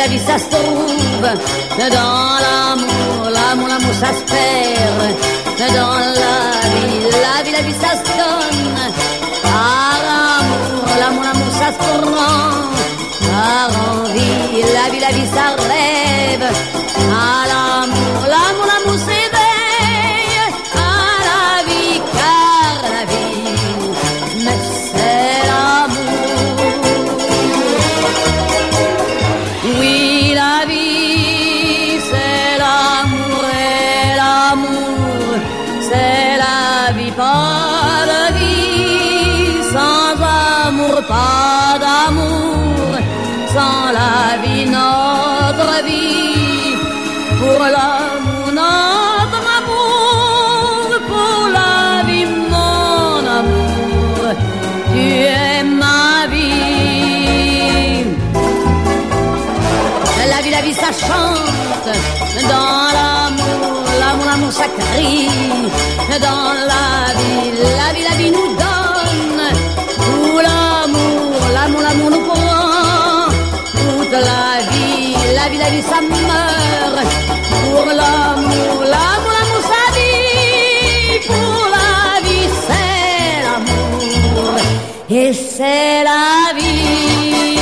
la vie, ça se trouve dans l'amour, l'amour, ça se perd. Dans la vie, ça se donne. Par l'amour, ça se prend. Par envie, la vie, ça rêve. À l'amour, s'éveille. À la vie, car la vie, mais c'est l'amour. Oui, la vie, c'est l'amour et l'amour, c'est la vie, pas de vie, sans amour, pas d'amour, sans la vie, notre vie, pour l'amour, notre amour, pour la vie, mon amour, tu es ma vie. La vie, ça chante, dans l'amour, ça crie, dans la vie nous donne, tout l'amour nous prend, toute la vie, ça meurt, pour l'amour, ça vit, pour la vie, c'est l'amour, et c'est la vie.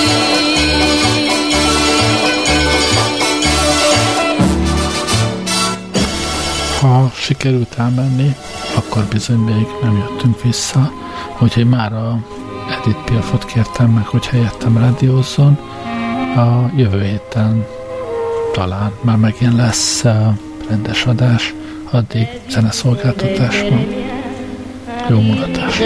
Ha sikerült elmenni, akkor bizony még nem jöttünk vissza, úgyhogy már a Edith Piafot kértem meg, hogy helyettem rádiózzon. A jövő héten talán már megint lesz rendes adás, addig zeneszolgáltatás van. Jó mulatás!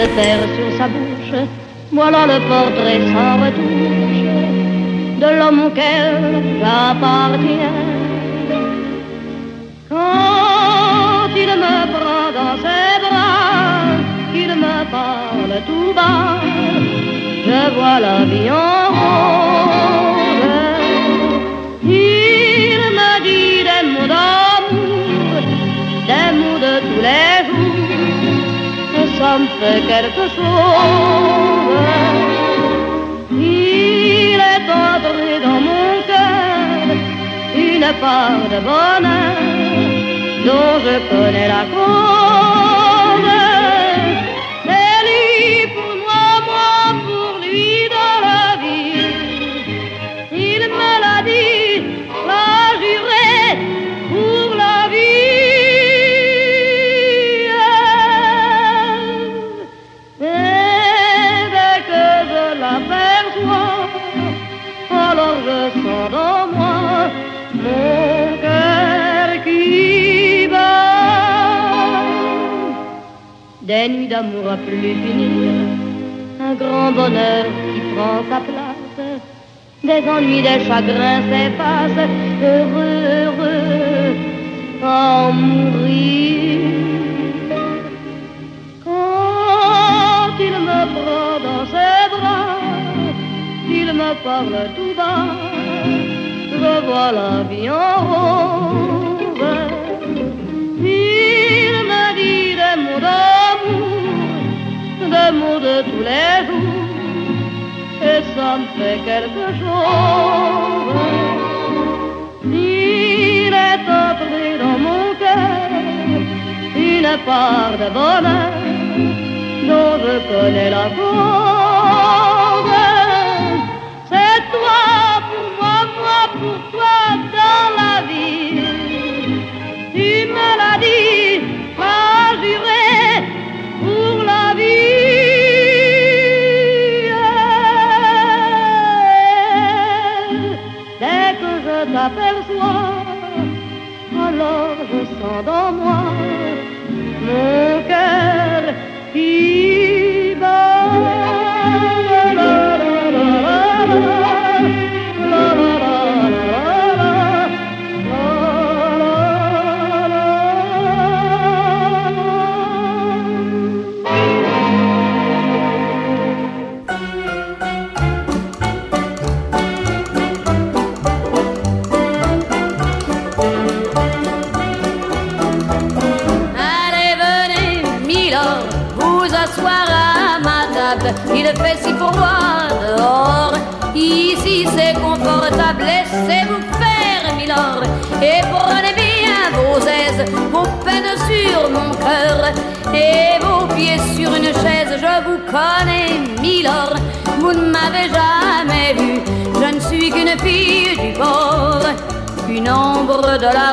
Voilà le portrait sans retouche de l'homme auquel j'appartiens. Quand il me prend dans ses bras, qu'il me parle tout bas, je vois la vie en rose. Il me dit des mots d'amour, des mots de tous les jours, et ça me fait quelque chose. Il est entré dans mon cœur une part de bonheur dont je connais la cause. C'est lui pour moi, moi pour lui dans la vie. Il me l'a dit, l'a juré pour la vie. Et dès que je l'aperçois, alors je sens dans moi mon cœur qui bat. Des nuits d'amour à plus finir, un grand bonheur qui prend sa place, des ennuis, des chagrins s'effacent, heureux, heureux, à en mourir. Quand il me prend dans ses bras, il me parle tout bas, je vois la vie en rose. Il me dit des mots d'amour, des mots de tous les jours, et ça me fait quelque chose. Il est entré dans mon cœur une part de bonheur dont je connais la cause. C'est toi pour moi, moi pour toi dans la vie. Tu me l'as dit, m'as juré pour la vie. Dès que je t'aperçois, alors je sens dans moi mon cœur qui bat. Il fait si froid dehors, Ici c'est confortable, laissez-vous faire, milord, et prenez bien vos aises, vos peines sur mon cœur, et vos pieds sur une chaise. Je vous connais, milord, vous ne m'avez jamais vu. Je ne suis qu'une fille du port, une ombre de la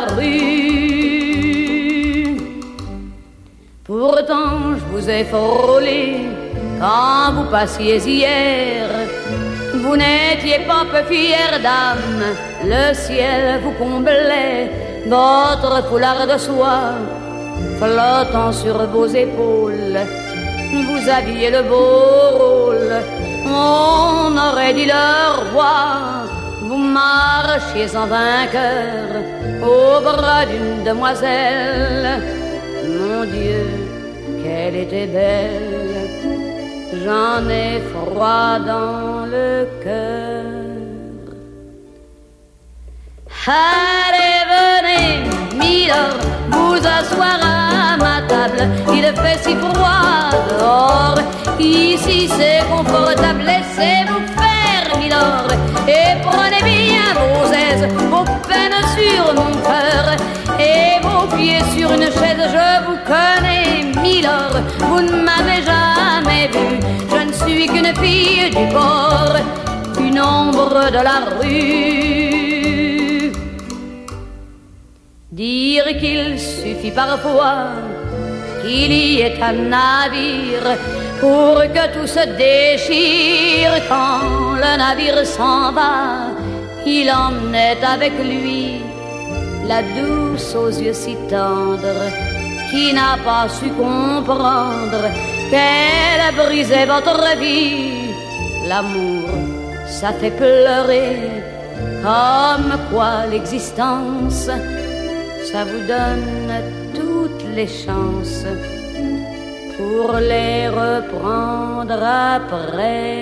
rue. Pourtant je vous ai frôlé quand vous passiez hier. Vous n'étiez pas peu fière d'âme, le ciel vous comblait, votre foulard de soie flottant sur vos épaules. Vous aviez le beau rôle, on aurait dit le roi. Vous marchiez en vainqueur au bras d'une demoiselle. Mon Dieu, qu'elle était belle, j'en ai froid dans le cœur. Allez, venez, milord, vous asseoir à ma table. Il fait si froid dehors, ici c'est confortable. Laissez-vous faire, milord, et prenez bien vos aises, vos peines sur mon cœur, et vos pieds sur une chaise. Je vous connais, milord, vous ne m'avez jamais vu. Je ne suis qu'une fille du port, une ombre de la rue. Dire qu'il suffit parfois qu'il y ait un navire pour que tout se déchire. Quand le navire s'en va, il emmenait avec lui la douce aux yeux si tendres, qui n'a pas su comprendre qu'elle a brisé votre vie. L'amour, ça fait pleurer, comme quoi l'existence, ça vous donne toutes les chances pour les reprendre après.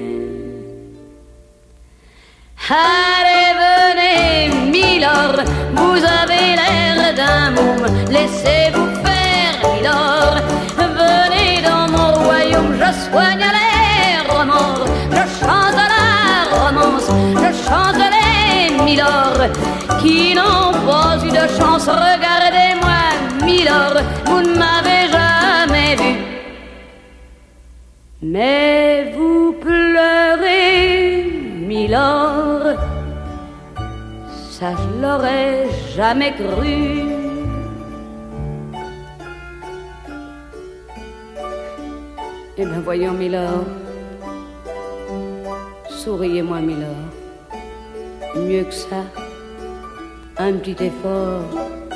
Allez, venez, milord, vous avez l'air d'un môme, laissez-vous faire, milord. Venez dans mon royaume, je soigne les remords, je chante la romance, je chante les milord qui n'ont pas eu de chance. Regardez-moi, milord, vous ne m'avez jamais vu, mais vous pleurez, milord, ça je l'aurais jamais cru. Eh bien voyons, milord, souriez-moi, milord, mieux que ça, un petit effort.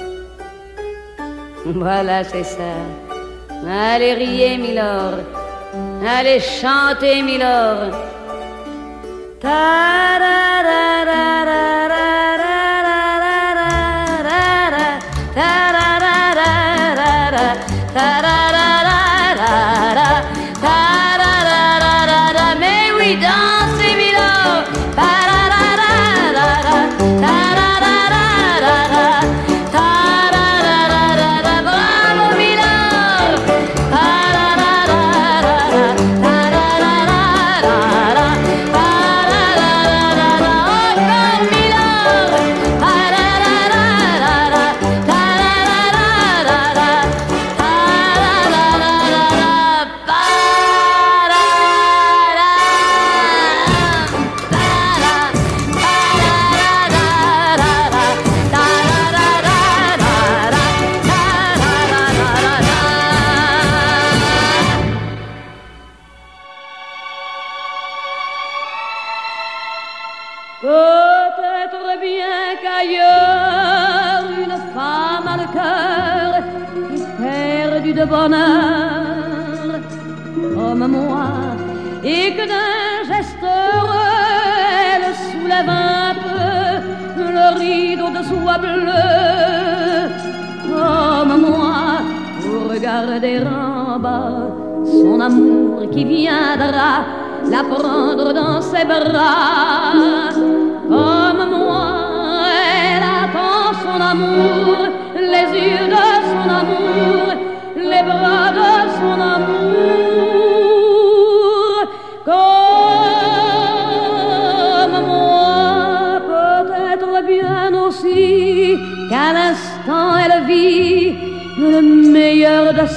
Voilà, c'est ça. Allez, riez, milord, allez, chantez, milord. Mais oui, dansez, milord. Bravo, milord. Peut-être bien qu'ailleurs une femme a le cœur perdu de bonheur comme moi, et que d'un geste heureux elle soulève un peu le rideau de soie bleue comme moi, pour regarder en bas son amour qui viendra la prendre dans ses bras. Comme moi, elle attend son amour, les yeux de son amour, les bras de son amour. Comme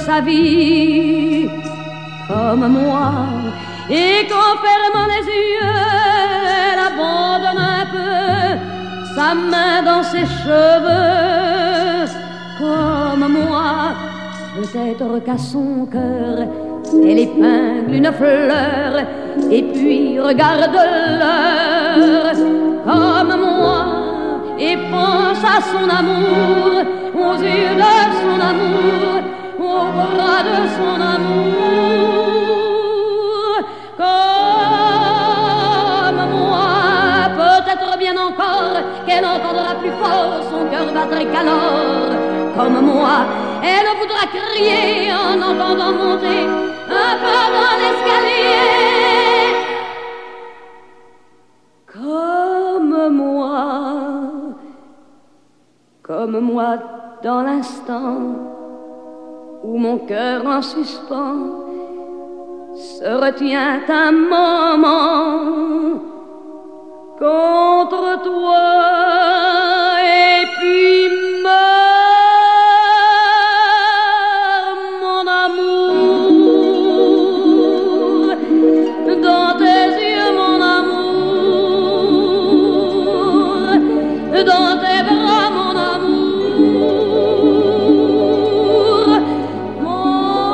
sa vie comme moi, et qu'en fermant les yeux, elle abandonne un peu sa main dans ses cheveux comme moi. Peut-être qu'à son cœur elle épingle une fleur et puis regarde l'heure comme moi et pense à son amour, aux yeux de son amour, aux bras de son amour comme moi. Peut-être bien encore qu'elle entendra plus fort son cœur battre qu'alors comme moi. Elle voudra crier en entendant monter un pas dans l'escalier comme moi dans l'instant où mon cœur en suspens se retient un moment contre toi et puis meurt mon amour dans tes yeux, mon amour dans tes bras, mon amour, mon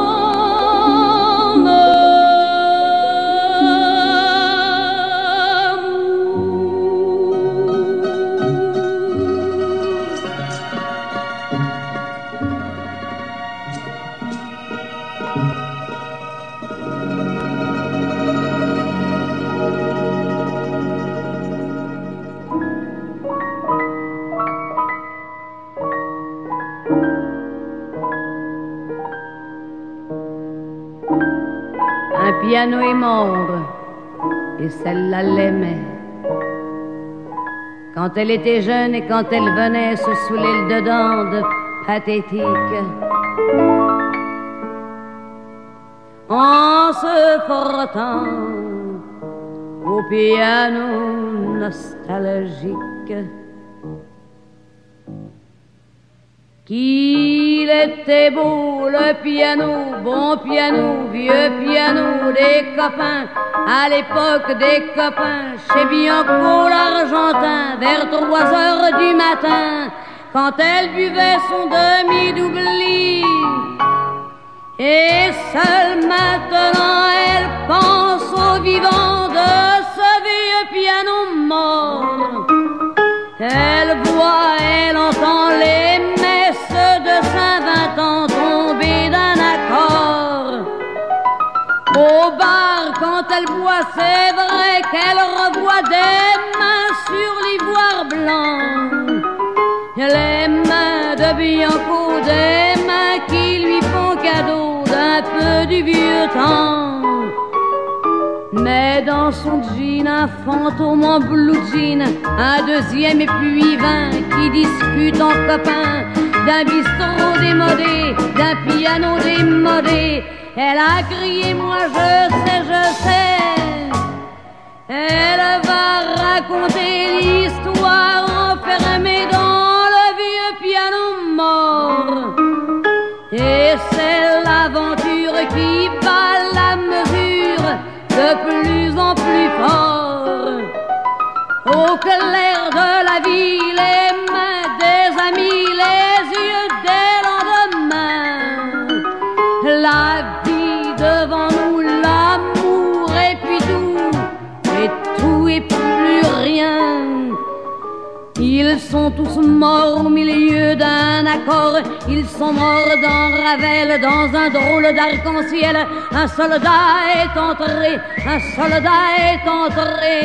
Un piano est mort et celle-là l'aimait. Quand elle était jeune et quand elle venait se saouler le dedans de pathétique, en se frottant au piano nostalgique. Qu'il était beau le piano, bon piano, vieux piano des copains, à l'époque des copains, chez Bianco l'Argentin, vers 3 heures du matin, quand elle buvait son demi-doubli. Et seule maintenant elle pense au vivant de ce vieux piano mort. Elle voit, elle entend les messes de Saint-Vincent tomber d'un accord. Au bar, quand elle boit, c'est vrai qu'elle revoit des mains sur l'ivoire blanc. Les mains de Bianco, des mains qui lui font cadeau d'un peu du vieux temps. Mais dans son jean, un fantôme en blue jean, un deuxième et puis 20 qui discutent en copains d'un bistrot démodé, d'un piano démodé. Elle a crié, moi je sais. Elle va raconter l'histoire enfermée dans le vieux piano mort. Et c'est l'aventure qui bat la mesure de plus en plus fort. Au clair de la vie, les mains des amis, les yeux des lendemains. La vie devant nous, l'amour et puis tout et plus rien. Ils sont tous morts au milieu d'un accord. Ils sont morts dans Ravel, dans un drôle d'arc-en-ciel. Un soldat est entré, un soldat est entré.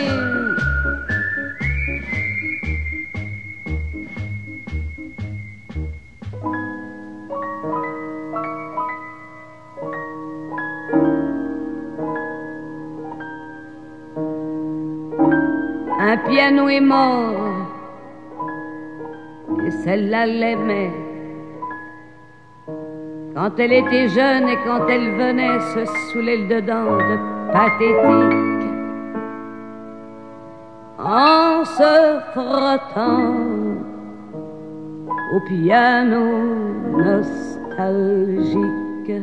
Un piano est mort et celle-là l'aimait. Quand elle était jeune et quand elle venait se saouler le dedans de pathétique, en se frottant au piano nostalgique. nostalgique.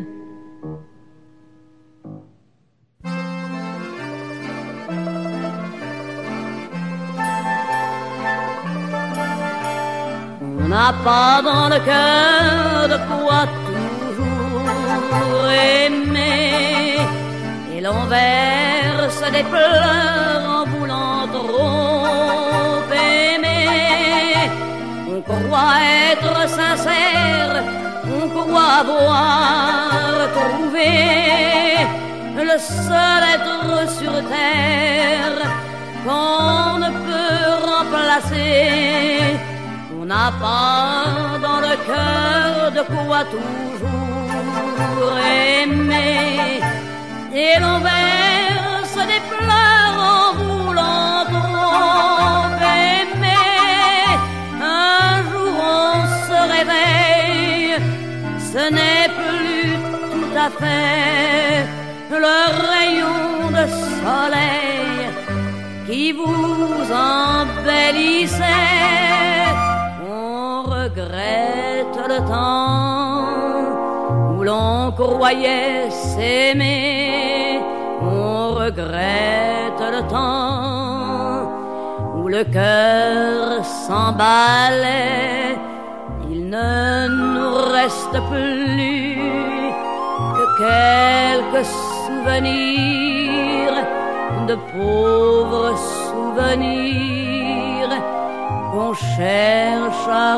On n'a pas dans le cœur de quoi toujours aimer, et l'on verse des pleurs en voulant trop aimer. On croit être sincère, on croit avoir trouvé le seul être sur terre qu'on ne peut remplacer. On n'a pas dans le cœur de quoi toujours aimer, et l'on verse des pleurs en voulant trop aimer. Un jour on se réveille, ce n'est plus tout à fait le rayon de soleil qui vous embellissait. On regrette le temps où l'on croyait s'aimer. On regrette le temps où le cœur s'emballait. Il ne nous reste plus que quelques souvenirs, de pauvres souvenirs qu'on cherche à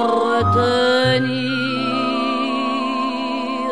retenir.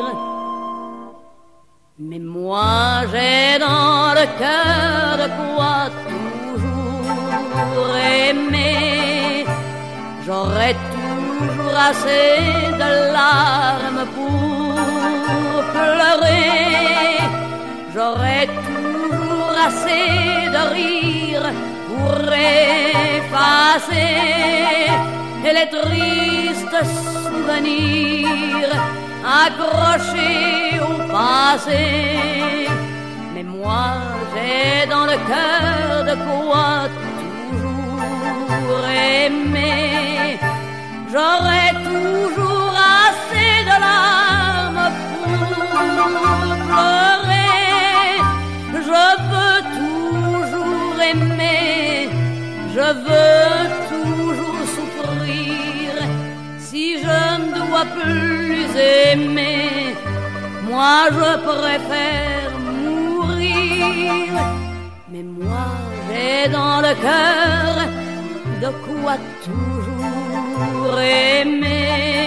Mais moi j'ai dans le cœur de quoi toujours aimer. J'aurais toujours assez de larmes pour pleurer. J'aurais toujours assez de rire pour effacer les tristes souvenirs accrochés au passé. Mais moi j'ai dans le cœur de quoi toujours aimer. J'aurais toujours assez de larmes pour pleurer. Je veux toujours aimer, je veux toujours souffrir. Si je ne dois plus aimer, moi je préfère mourir. Mais moi j'ai dans le cœur de quoi toujours aimer.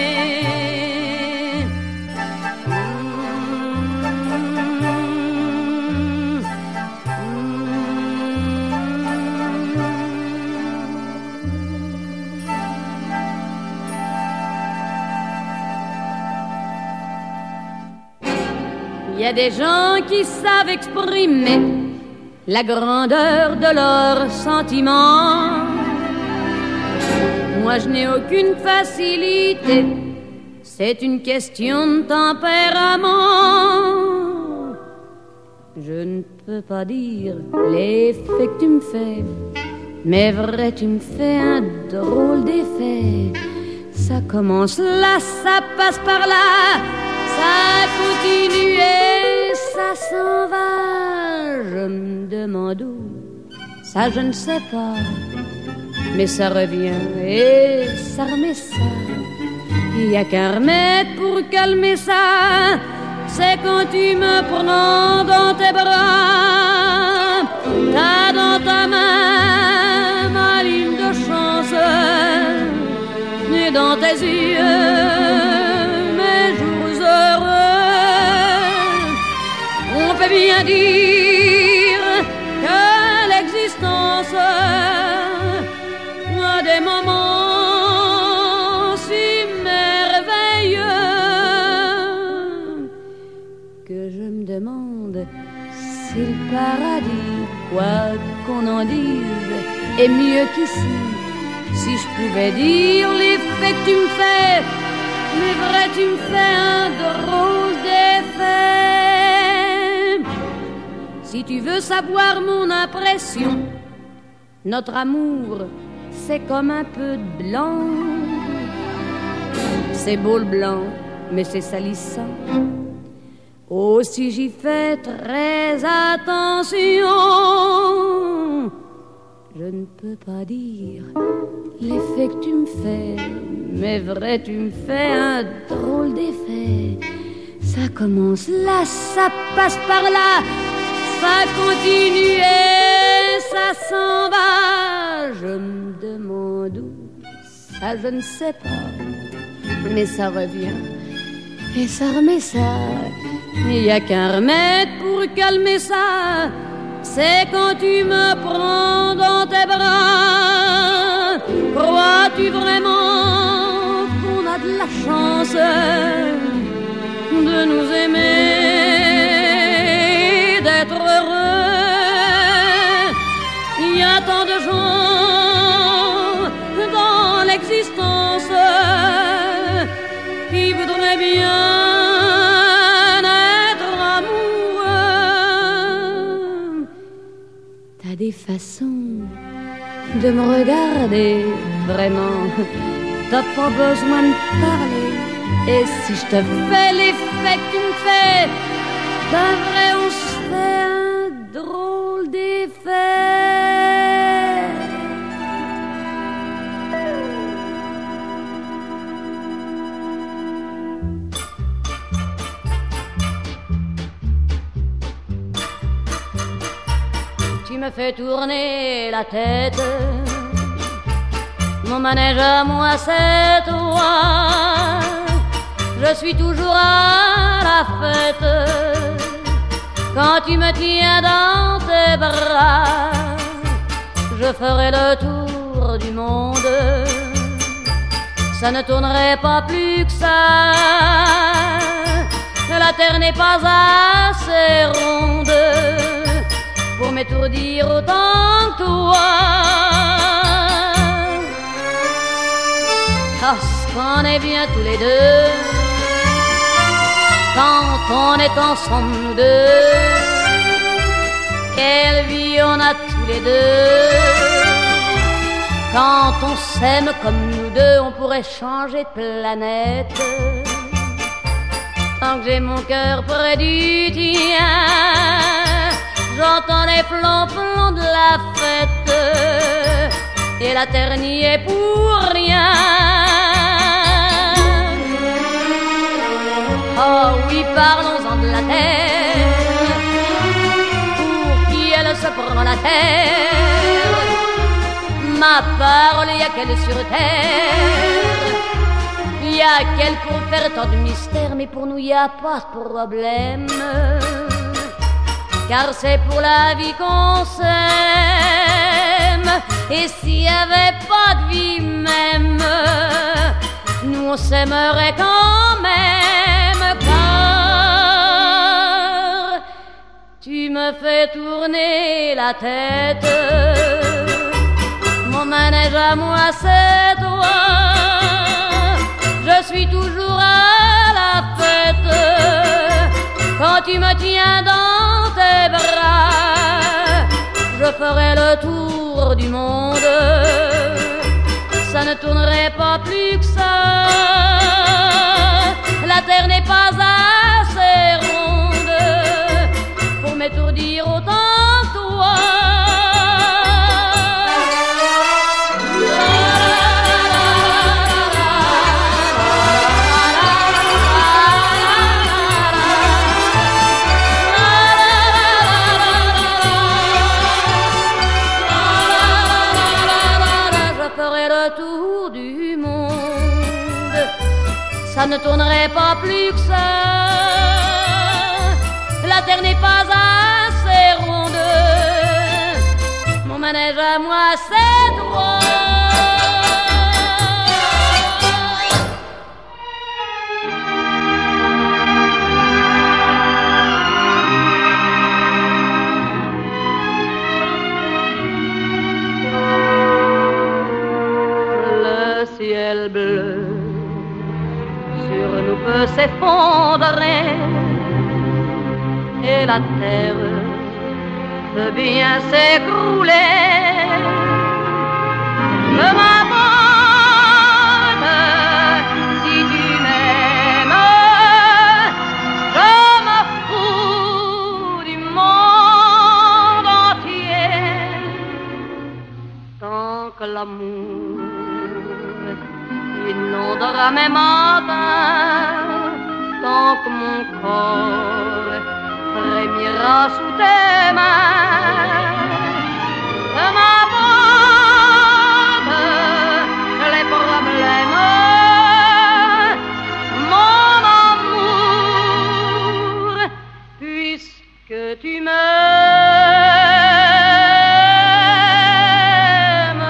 Il y a des gens qui savent exprimer la grandeur de leurs sentiments. Moi je n'ai aucune facilité, c'est une question de tempérament. Je ne peux pas dire l'effet que tu me fais, mais vrai tu me fais un drôle d'effet. Ça commence là, ça passe par là, ça continue et ça s'en va. Je me demande où, ça je ne sais pas, mais ça revient et ça remet ça. Il n'y a qu'un remède pour calmer ça, c'est quand tu me prends dans tes bras. T'as dans ta main ma ligne de chance, et dans tes yeux mes jours heureux. On peut bien dire que l'existence a des moments si merveilleux que je me demande si le paradis, quoi qu'on en dise, est mieux qu'ici. Si je pouvais dire l'effet que tu me fais, mais vrai tu me fais un drôle d'effet. Si tu veux savoir mon impression, notre amour c'est comme un peu de blanc. C'est beau le blanc mais c'est salissant. Aussi j'y fais très attention. Je ne peux pas dire l'effet que tu me fais, mais vrai tu me fais un drôle d'effet. Ça commence là, ça passe par là, ça continue et ça s'en va. Je me demande où, ça je ne sais pas, mais ça revient et ça remet ça. Il n'y a qu'un remède pour calmer ça, c'est quand tu me prends dans tes bras. Crois-tu vraiment qu'on a de la chance de nous aimer, d'être heureux? Il y a tant de gens dans l'existence qui voudraient bien des façons de me regarder, vraiment, t'as pas besoin de parler. Et si je te fais l'effet que tu me fais, ben vrai on se fait un drôle d'effet. Tu me fais tourner la tête, mon manège à moi c'est toi. Je suis toujours à la fête quand tu me tiens dans tes bras. Je ferai le tour du monde, ça ne tournerait pas plus que ça. La terre n'est pas assez ronde pour m'étourdir autant que toi. Parce qu'on est bien tous les deux quand on est ensemble nous deux. Quelle vie on a tous les deux. Quand on s'aime comme nous deux, on pourrait changer de planète. Tant que j'ai mon cœur près du tien, j'entends les flancs de la fête et la terre n'y est pour rien. Oh oui, parlons-en de la terre, pour qui elle se prend la terre. Ma parole, y a qu'elle sur terre, y a qu'elle pour faire tant de mystères, mais pour nous y a pas de problème. Car c'est pour la vie qu'on s'aime. Et s'il n'y avait pas de vie même, nous on s'aimerait quand même. Car tu me fais tourner la tête, mon manège à moi c'est toi. Je suis toujours à la fête quand tu me tiens dans tes bras. Je ferai le tour du monde, ça ne tournerait pas plus que ça. La terre n'est pas assez ronde pour m'étourdir autant que toi. Ça ne tournerait pas plus que ça. La terre n'est pas assez ronde. Mon manège à moi c'est toi. Le ciel bleu nous peut s'effondrer et la terre peut bien s'écrouler. Je m'abandonne si tu m'aimes. l'amour inondera mes matins tant que mon corps frémira sous tes mains. De ma bande, les problèmes, mon amour, puisque tu m'aimes.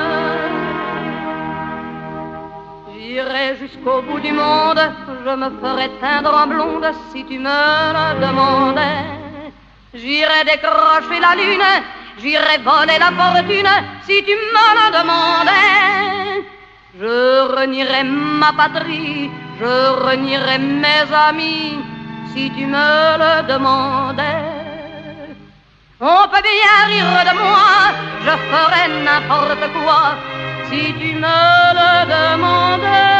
J'irai jusqu'au bout du monde, je me ferai teindre en blonde si tu me le demandais. J'irai décrocher la lune, j'irai voler la fortune si tu me le demandais. Je renierai ma patrie, je renierai mes amis si tu me le demandais. On peut bien rire de moi, je ferai n'importe quoi si tu me le demandais.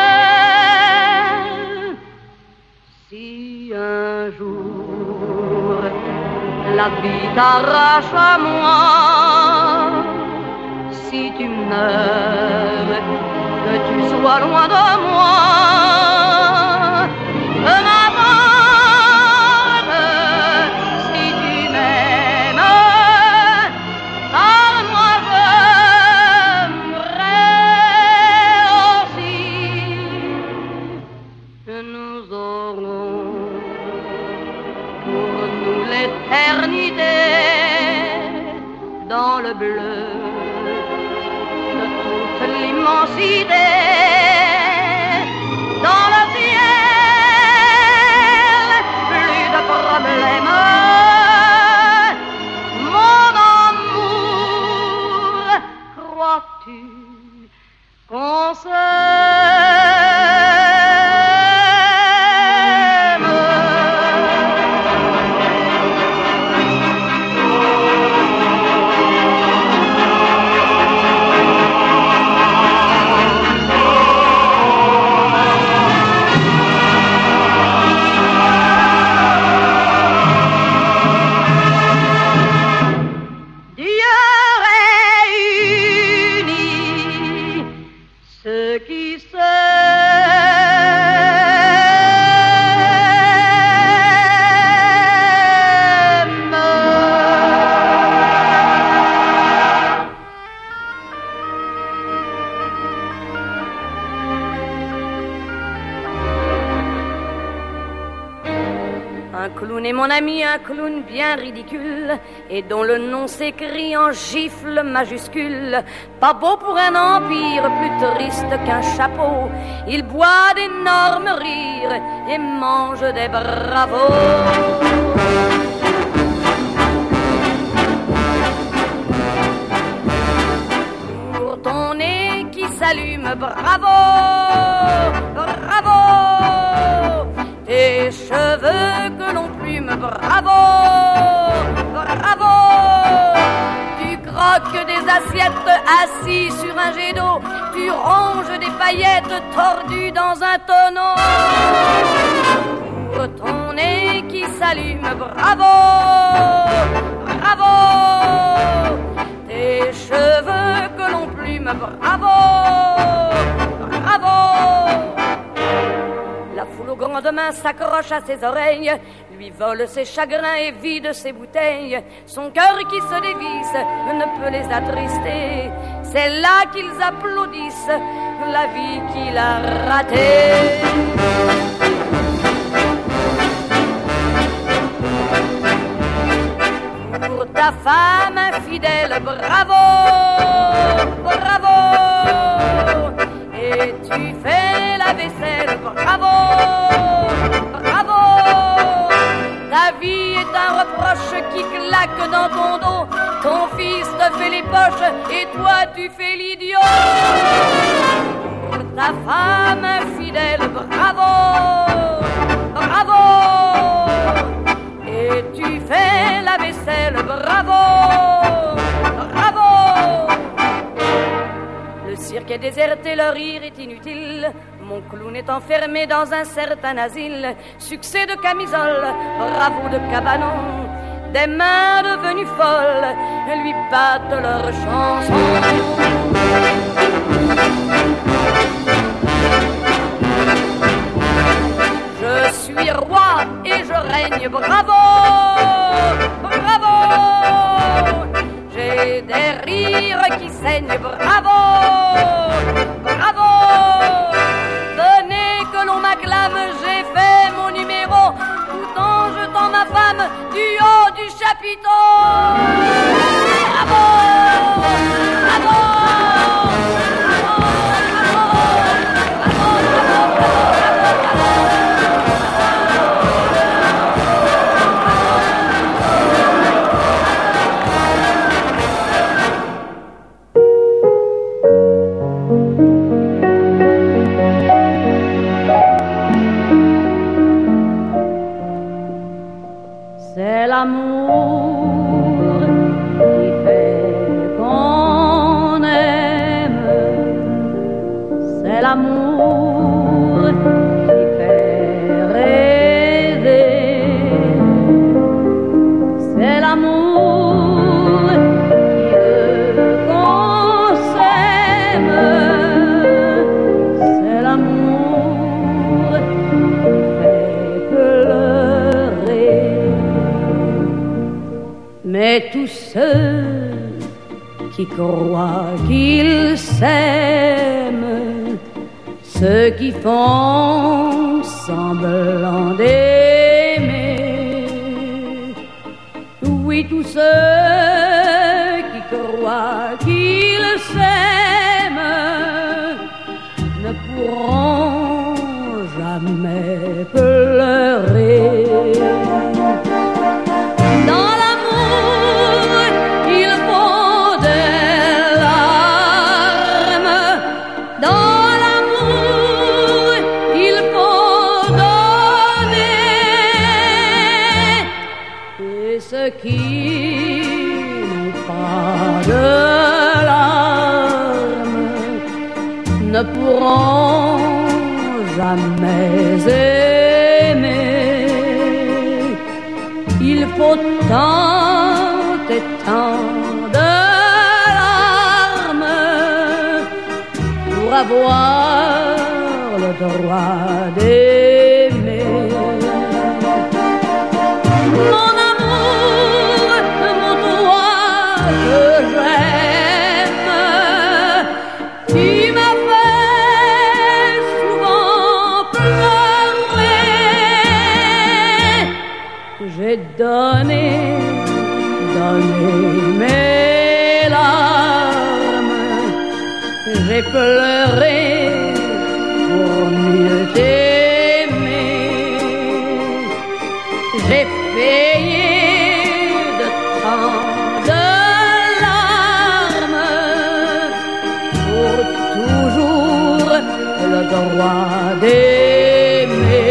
Si un jour la vie t'arrache à moi, si tu meurs, que tu sois loin de moi, de ma bande, si tu m'aimes, car moi j'aimerais aussi que nous aurons pour nous l'éternité dans le bleu de toute l'immensité, dans le ciel, plus de problèmes, mon amour, crois-tu qu'on mon ami, un clown bien ridicule et dont le nom s'écrit en gifle majuscule. Pas beau pour un empire, plus triste qu'un chapeau. Il boit d'énormes rires et mange des bravos. Pour ton nez qui s'allume, bravo, bravo. Tes cheveux que l'on plume, bravo, bravo. Tu croques des assiettes assis sur un jet d'eau. Tu ronges des paillettes tordues dans un tonneau. Pour ton nez qui s'allume, bravo, bravo. Tes cheveux que l'on plume, bravo, bravo. La foule aux grandes mains s'accroche à ses oreilles, lui vole ses chagrins et vide ses bouteilles. Son cœur qui se dévisse ne peut les attrister. C'est là qu'ils applaudissent la vie qu'il a ratée. Pour ta femme infidèle, bravo, bravo. Et tu fais la vaisselle, bravo, bravo. Ta vie est un reproche qui claque dans ton dos. Ton fils te fait les poches et toi tu fais l'idiot. Pour ta femme infidèle, bravo, bravo. Et tu fais la vaisselle, bravo, bravo. Le cirque est déserté, le rire est inutile. Mon clown est enfermé dans un certain asile. Succès de camisole, bravo de cabanon. Des mains devenues folles lui battent leur chanson. Bravo, bravo. J'ai des rires qui saignent. Bravo, bravo. Venez que l'on m'acclame. J'ai fait mon numéro tout en jetant ma femme du haut du chapiteau. Bravo, bravo. C'est l'amour qui fait qu'on aime. C'est l'amour qui fait rêver. C'est l'amour qui veut qu'on s'aime. C'est l'amour qui fait pleurer. Mais tous ceux qui croient qu'ils s'aiment, ceux qui font semblant d'aimer, oui, tous ceux qui croient qu'ils s'aiment ne pourront jamais pleurer. Dans l'amour, il faut des larmes. Dans l'amour, il faut donner. Et ceux qui n'ont pas de larmes ne pourront jamais aimer. Il faut tant et tant de larmes pour avoir le droit d'aimer. Mon amour, mon toi que j'aime, tu m'as fait souvent pleurer. J'ai donné mes larmes, j'ai pleuré pour mieux t'aimer. J'ai payé de tant de larmes pour toujours le droit d'aimer.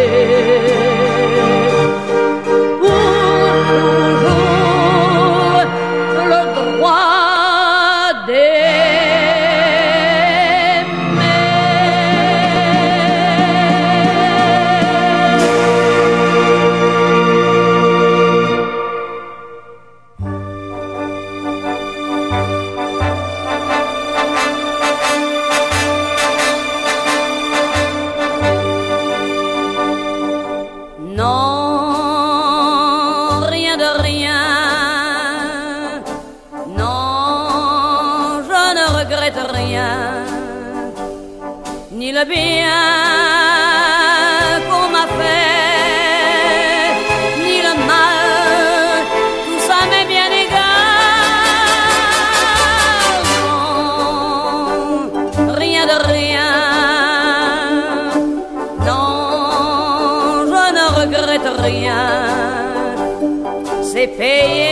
Ni le bien qu'on m'a fait, ni le mal, tout ça m'est bien égal. Non, rien de rien. Non, je ne regrette rien. C'est payé.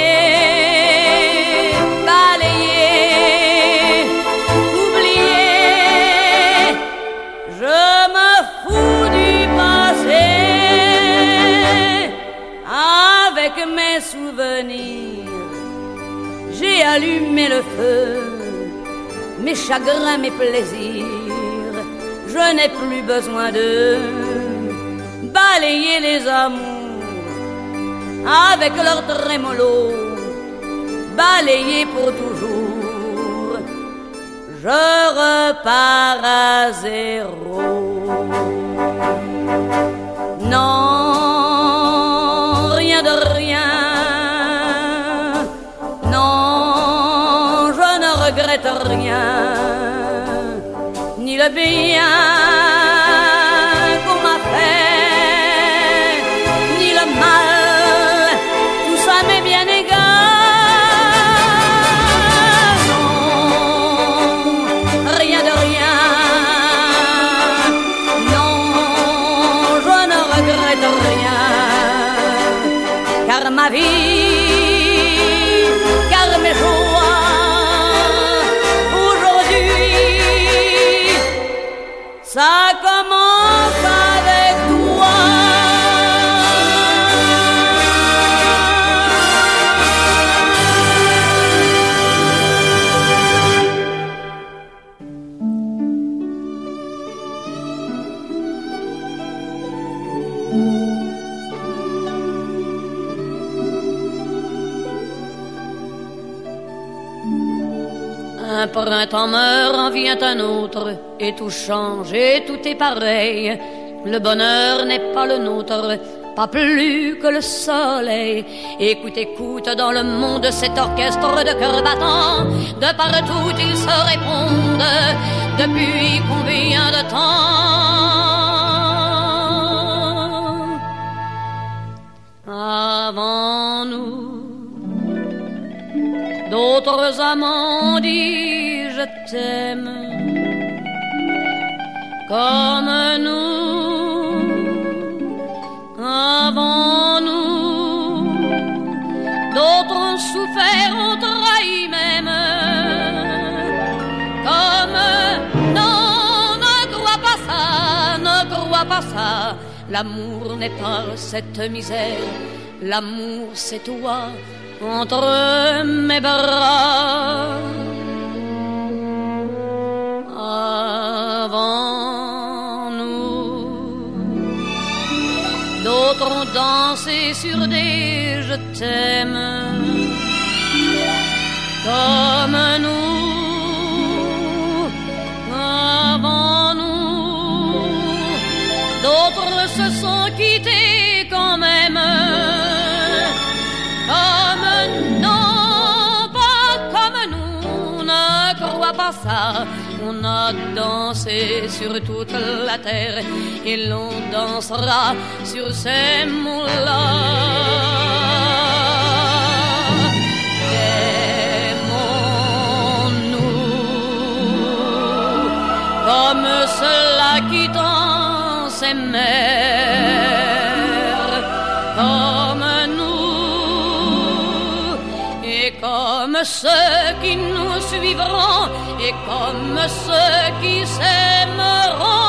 Mes souvenirs, j'ai allumé le feu, mes chagrins, mes plaisirs, je n'ai plus besoin de balayer les amours avec leur trémolo, balayer pour toujours. je repars à zéro. Non, rien de rien. Non, je ne regrette rien, ni le bien qu'on m'a fait, ni le mal, tout ça m'est bien égal. Non, rien de rien. Non, je ne regrette rien, car ma vie, car mes joies, aujourd'hui, ça commence avec toi. Un printemps meurt, en vient un autre, et tout change, et tout est pareil. Le bonheur n'est pas le nôtre, pas plus que le soleil. Écoute, écoute, dans le monde, cet orchestre de cœurs battants, de partout ils se répondent. Depuis combien de temps? Avant nous, d'autres amants disent je t'aime. Comme nous, avant nous, d'autres ont souffert, ont trahi même. Comme non, ne crois pas ça, ne crois pas ça. L'amour n'est pas cette misère, l'amour c'est toi entre mes bras. Avant nous, d'autres ont dansé sur des je t'aime. Comme nous, avant nous, d'autres se sont quittés quand même. Comme non, pas comme nous, ne crois pas ça. On a dansé sur toute la terre et l'on dansera sur ces mots-là. Aimons-nous comme ceux-là qui dansent s'aimèrent, comme nous et comme ceux qui nous suivront et comme ceux qui s'aimeront.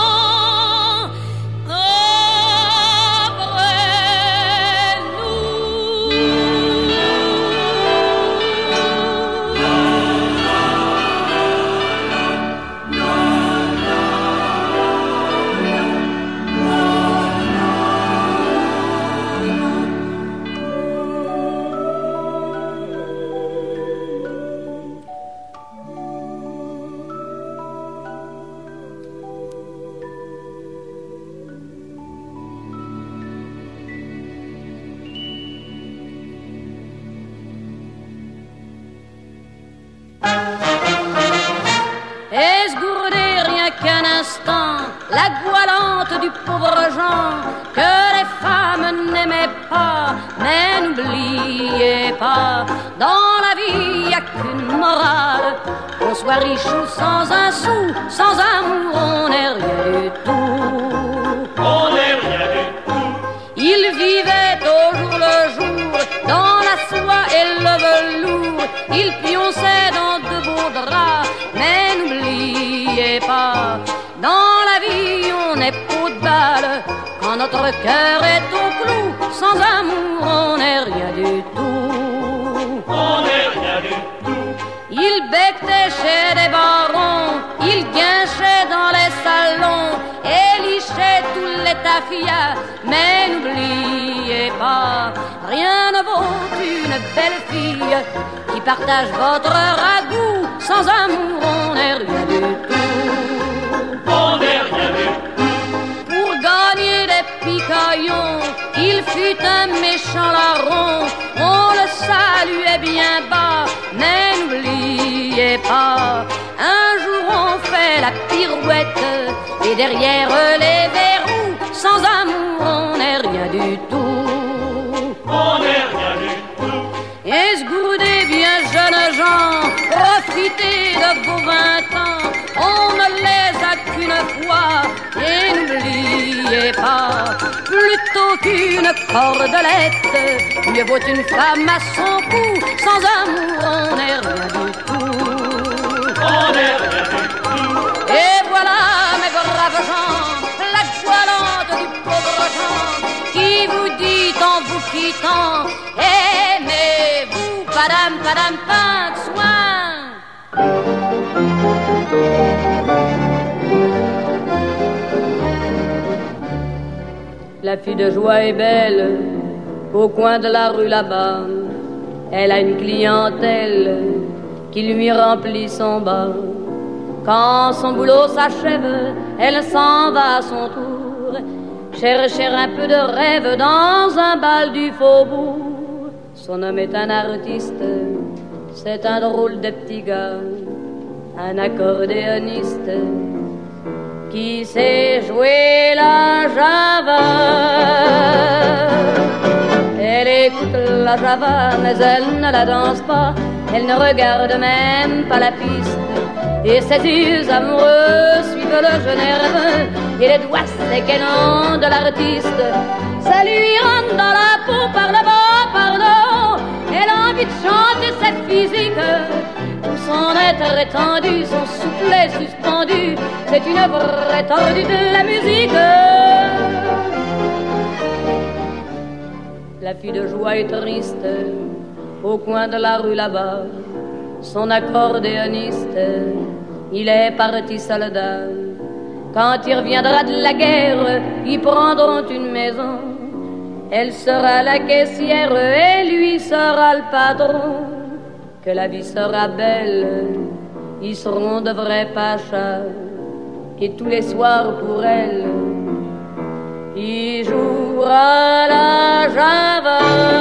La goualante du pauvre Jean que les femmes n'aimaient pas. Mais n'oubliez pas, dans la vie y a qu'une morale. Qu'on soit riche ou sans un sou, sans amour on n'est rien du tout. On n'est rien du tout. Il vivait au jour le jour dans la soie et le velours. Il pionçait dans de beaux draps. Mais n'oubliez pas, dans la vie on est peau de balle. Quand notre cœur est au clou, sans amour on n'est rien du tout. On n'est rien du tout. Il becquait chez des barons, il guinchait dans les salons et lichait tous les tafias. Mais n'oubliez pas, rien ne vaut une belle fille qui partage votre ragoût sans amour on n'est rien du tout. On n'est rien du tout. Pour gagner des picaillons, il fut un méchant larron. On le saluait bien bas, mais n'oubliez pas, un jour on fait la pirouette et derrière les verrous, sans amour on n'est rien du tout. On n'est rien du tout. Esgourdez bien jeunes gens, profitez de vos 20 ans, on ne les a qu'une fois, et n'oubliez pas, plutôt qu'une cordelette, mieux vaut une femme à son cou, sans amour on n'est rien du tout. On n'est rien du tout. Et voilà mes braves gens, la toilante du pauvre Jean, qui vous dit en vous quittant, aimez-vous, padam, padam, pas de soin. La fille de joie est belle, au coin de la rue là-bas, elle a une clientèle qui lui remplit son bas. Quand son boulot s'achève, elle s'en va à son tour chercher un peu de rêve dans un bal du faubourg. Son homme est un artiste, c'est un drôle de petit gars, un accordéoniste qui sait jouer la java. Elle écoute la java, mais elle ne la danse pas, elle ne regarde même pas la piste. Et ses yeux amoureux suivent le jeu nerveux et les doigts séquennants de l'artiste. Ça lui rentre dans la peau par le bas, par le haut. Elle a envie de chanter cette physique. Tout son être étendu, son soufflet suspendu. C'est une vraie tordue de la musique. La fille de joie est triste au coin de la rue là-bas. Son accordéoniste, il est parti soldat. Quand il reviendra de la guerre, ils prendront une maison. Elle sera la caissière et lui sera le patron. Que la vie sera belle, ils seront de vrais pachas. Et tous les soirs pour elle, il jouera la java.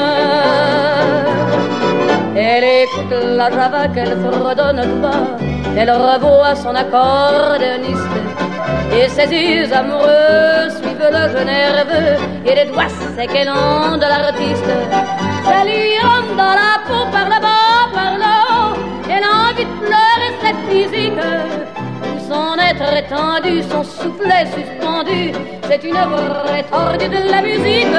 Elle écoute la java qu'elle fredonne tout bas. Elle revoit son accordéoniste et ses yeux amoureux suivent le jeu nerveux et les doigts séquennants de l'artiste. Ça lui rentre dans la peau par le bas, par le haut. Elle a envie de pleurer cette physique. Tout son être étendu, son soufflet suspendu. C'est une vraie tordue de la musique.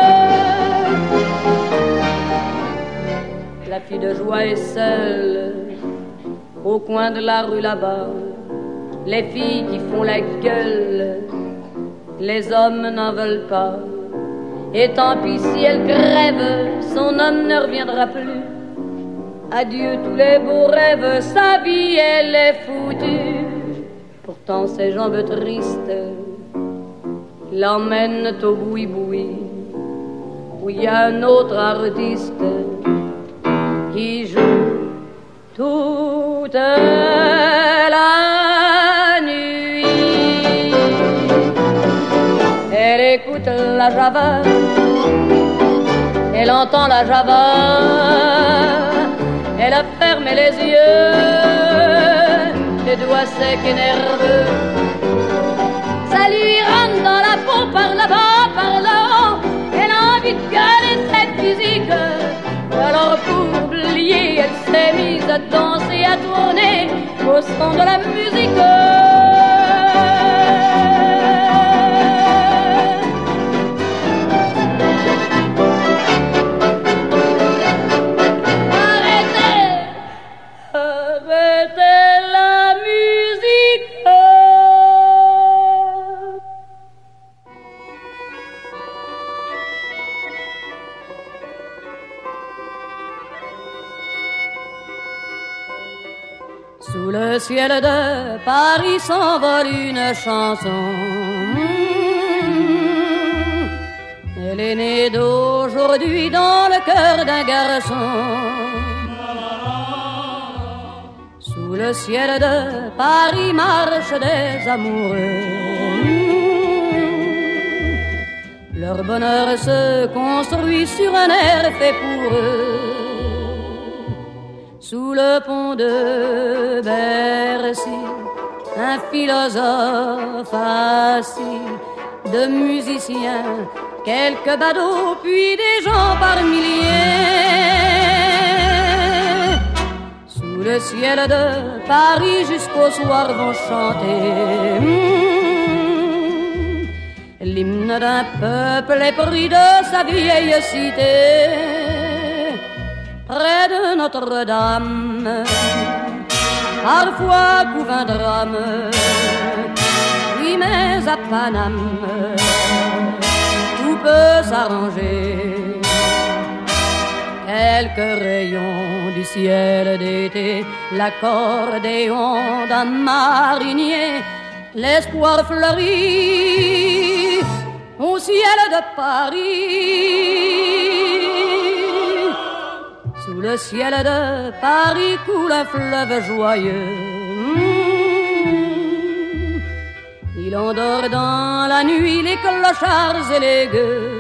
La fille de joie est seule au coin de la rue là-bas. Les filles qui font la gueule, les hommes n'en veulent pas. Et tant pis si elle crève, son homme ne reviendra plus. Adieu tous les beaux rêves, sa vie elle est foutue. Pourtant ses jambes tristes l'emmènent au boui-boui, où il y a un autre artiste qui joue toute la nuit. Elle écoute la java, elle entend la java, elle a fermé les yeux, les doigts secs et nerveux. Ça lui rentre dans la peau par là-bas, par là-haut. Elle a envie de gueuler cette musique. Alors pour oublier, elle s'est mise à danser, à tourner au son de la musique. Arrêtez, arrêtez la musique. Sous le ciel de Paris s'envole une chanson. Elle est née d'aujourd'hui dans le cœur d'un garçon. Sous Sous le ciel de Paris marchent des amoureux. Leur bonheur se construit sur un air fait pour eux. Sous le pont de Bercy, un philosophe assis, de musiciens, quelques badauds, puis des gens par milliers. Sous le ciel de Paris jusqu'au soir vont chanter l'hymne d'un peuple épris de sa vieille cité. Près de Notre-Dame, parfois couve un drame, oui mais à Paname, tout peut s'arranger. Quelques rayons du ciel d'été, l'accordéon d'un marinier, l'espoir fleurit au ciel de Paris. Sous le ciel de Paris coule un fleuve joyeux. Il endort dans la nuit les clochards et les gueux.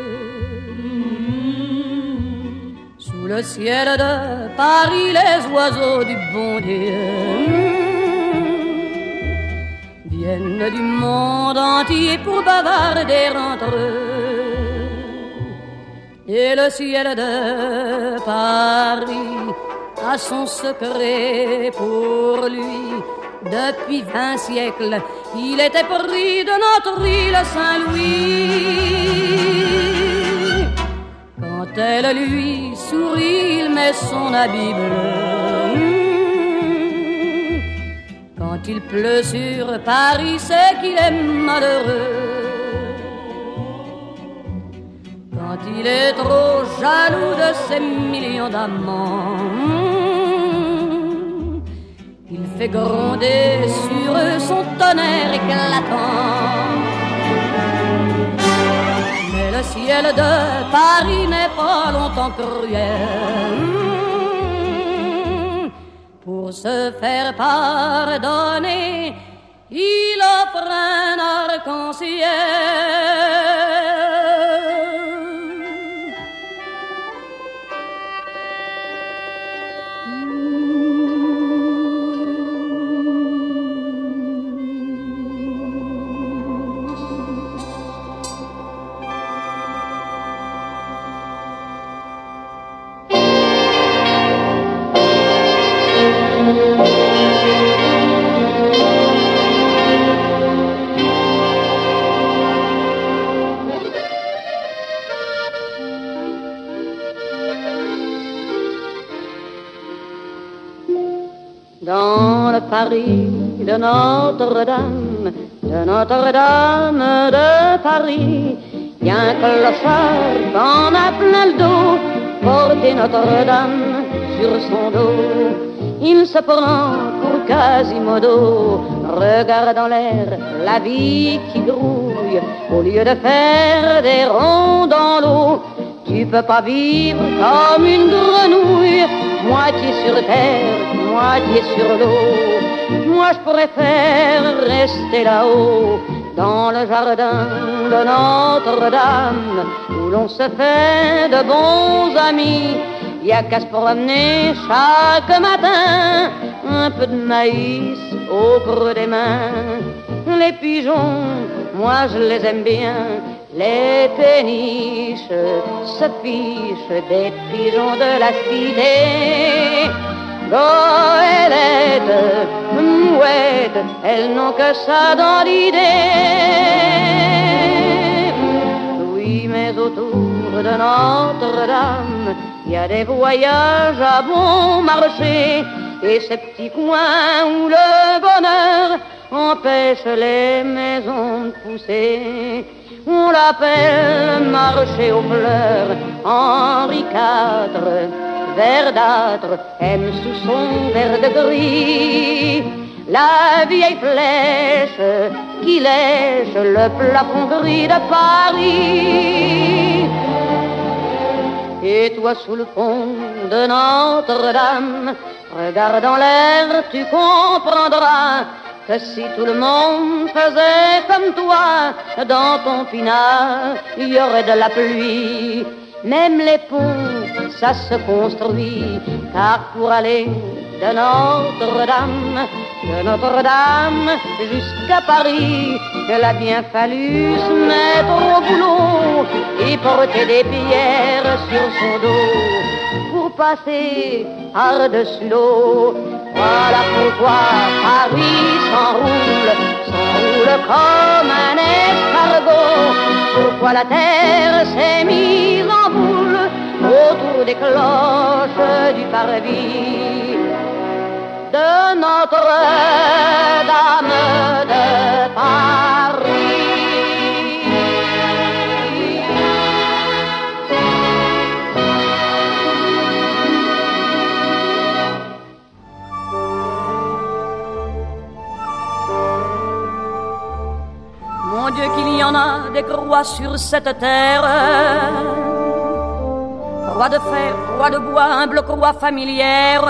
Sous le ciel de Paris les oiseaux du bon Dieu viennent du monde entier pour bavarder entre eux. Et le ciel de Paris a son secret pour lui. Depuis 20 siècles, il était pris de notre île Saint-Louis. Quand elle lui sourit, il met son habit bleu. Quand il pleut sur Paris, c'est qu'il est malheureux. Quand il est trop jaloux de ses millions d'amants, il fait gronder sur eux son tonnerre éclatant. Mais le ciel de Paris n'est pas longtemps cruel. Pour se faire pardonner, il offre un arc-en-ciel. Dans le Paris de Notre-Dame, de Paris, y a un clochard qu'on a plein le dos, porté Notre-Dame sur son dos. Il se prend pour Quasimodo, regarde en l'air la vie qui grouille, au lieu de faire des ronds dans l'eau. Tu peux pas vivre comme une grenouille, moitié sur terre, moitié sur l'eau. Moi je préfère rester là-haut, dans le jardin de Notre-Dame, où l'on se fait de bons amis. Y a qu'à se promener chaque matin, un peu de maïs au creux des mains. Les pigeons, moi je les aime bien. Les péniches se fichent des pigeons de la cité. Goélettes, mouettes, elles n'ont que ça dans l'idée. Oui, mais autour de Notre-Dame, il y a des voyages à bon marché et ces petits coins où le bonheur empêche les maisons de pousser. On l'appelle marché aux fleurs. Henri IV, verdâtre, aime sous son verre de gris la vieille flèche qui lèche le plafond gris de Paris. Et toi sous le pont de Notre-Dame, regardant l'air, tu comprendras que si tout le monde faisait comme toi, dans ton pinard, il y aurait de la pluie. Même les ponts, ça se construit, car pour aller de Notre-Dame jusqu'à Paris, il a bien fallu se mettre au boulot et porter des pierres sur son dos pour passer par-dessus l'eau. Voilà pourquoi Paris s'enroule comme un escargot. Pourquoi la terre s'est mise en boule autour des cloches du parvis de Notre-Dame de Paris. Mon Dieu, qu'il y en a des croix sur cette terre, croix de fer, croix de bois, humble croix familière,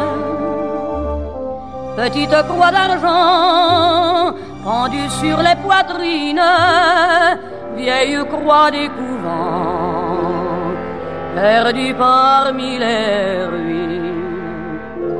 petite croix d'argent pendue sur les poitrines, vieille croix des couvents, perdue parmi les ruines.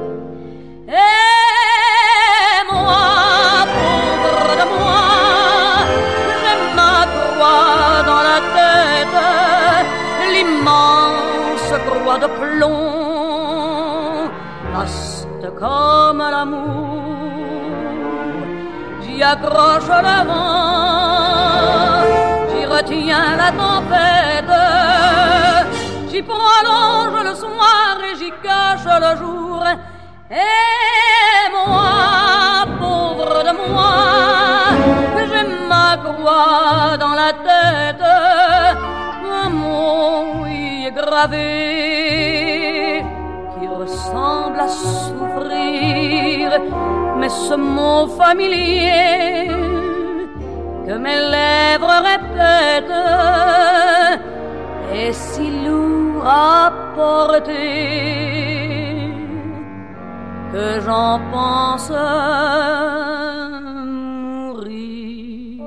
Et moi, pauvre de moi, j'ai ma croix dans la tête, l'immense croix de plomb, vaste comme l'amour. J'y accroche le vent, j'y retiens la tempête, j'y prolonge le soir et j'y cache le jour. Et moi, pauvre de moi, j'ai ma croix dans la tête, un mot y est gravé qui ressemble à souffrir, mais ce mot familier que mes lèvres répètent est si lourd à porter que j'en pense mourir.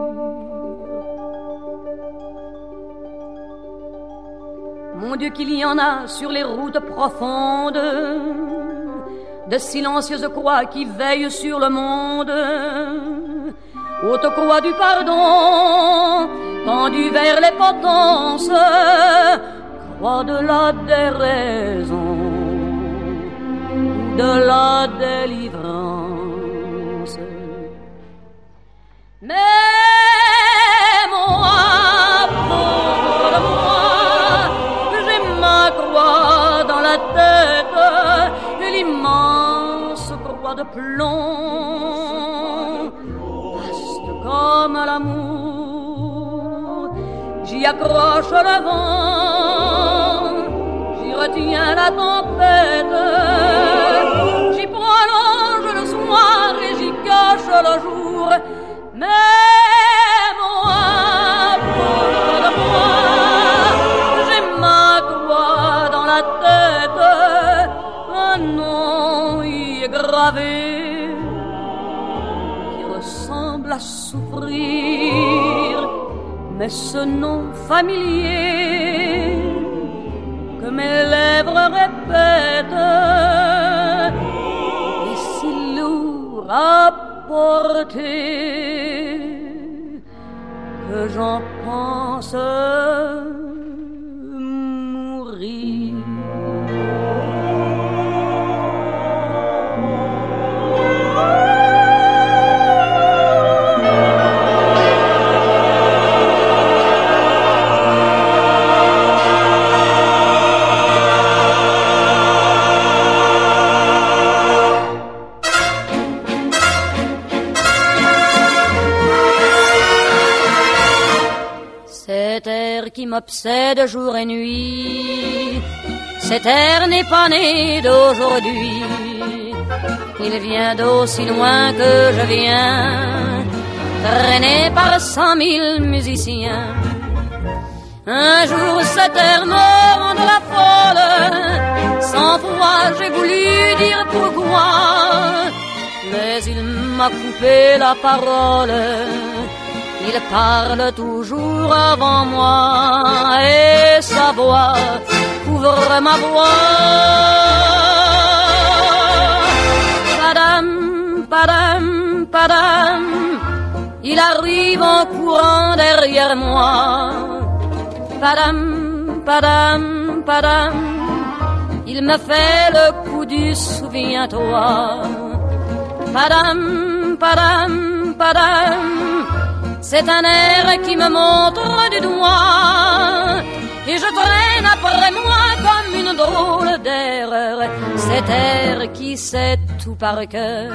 Mon Dieu, qu'il y en a sur les routes profondes, de silencieuses croix qui veillent sur le monde, haute croix du pardon, tendue vers les potences, croix de la déraison, de la délivrance. Mais moi, pauvre de moi, j'ai ma croix dans la tête, l'immense croix de plomb, vaste comme l'amour. J'y accroche le vent, j'y retiens la tempête, j'y prolonge le soir et j'y cache le jour. Mais moi, pauvre de moi, j'ai ma croix dans la tête, un nom y est gravé qui ressemble à souffrir, mais ce nom familier que mes lèvres répètent est si lourd à porter que j'en pense mourir. Qui m'obsède jour et nuit, cet air n'est pas né d'aujourd'hui, il vient d'aussi loin que je viens, traîné par 100 000 musiciens. Un jour cette terre me rend la folle, sans foi j'ai voulu dire pourquoi, mais il m'a coupé la parole. Il parle toujours avant moi et sa voix couvre ma voix. Padam, padam, padam, il arrive en courant derrière moi. Padam, padam, padam, il me fait le coup du souviens-toi. Padam, padam, padam, c'est un air qui me montre du doigt et je traîne après moi comme une drôle d'erreur cet air qui sait tout par cœur.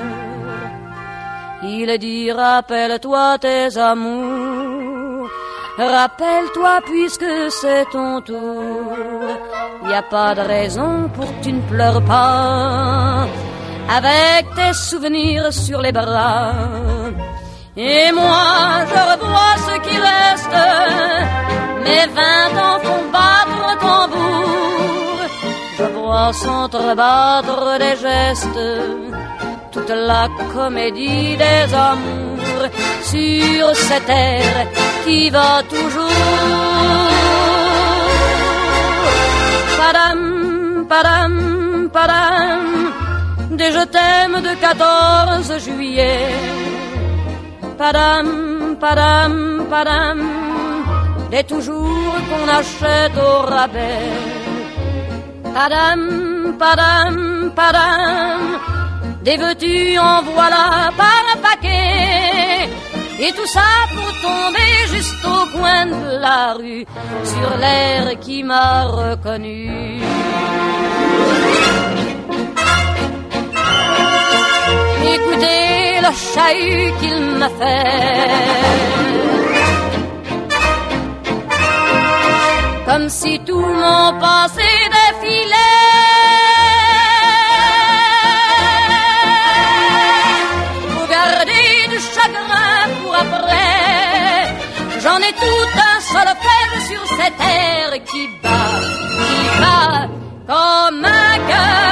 Il dit rappelle-toi tes amours, rappelle-toi puisque c'est ton tour. Y a pas de raison pour que tu ne pleures pas avec tes souvenirs sur les bras. Et moi je revois ce qui reste, mes 20 ans font battre tambour. Je vois s'entrebattre des gestes, toute la comédie des amours sur cette terre qui va toujours. Padam, padam, padam, des je t'aime de 14 juillet. Padam, padam, padam, des toujours qu'on achète au rabais. Padam, padam, padam, des veux-tu en voilà par un paquet. Et tout ça pour tomber juste au coin de la rue, sur l'air qui m'a reconnu. Écoutez le chahut qu'il m'a fait, comme si tout mon passé défilait. Faut garder du chagrin pour après, j'en ai tout un solfège sur cette terre qui bat comme un cœur.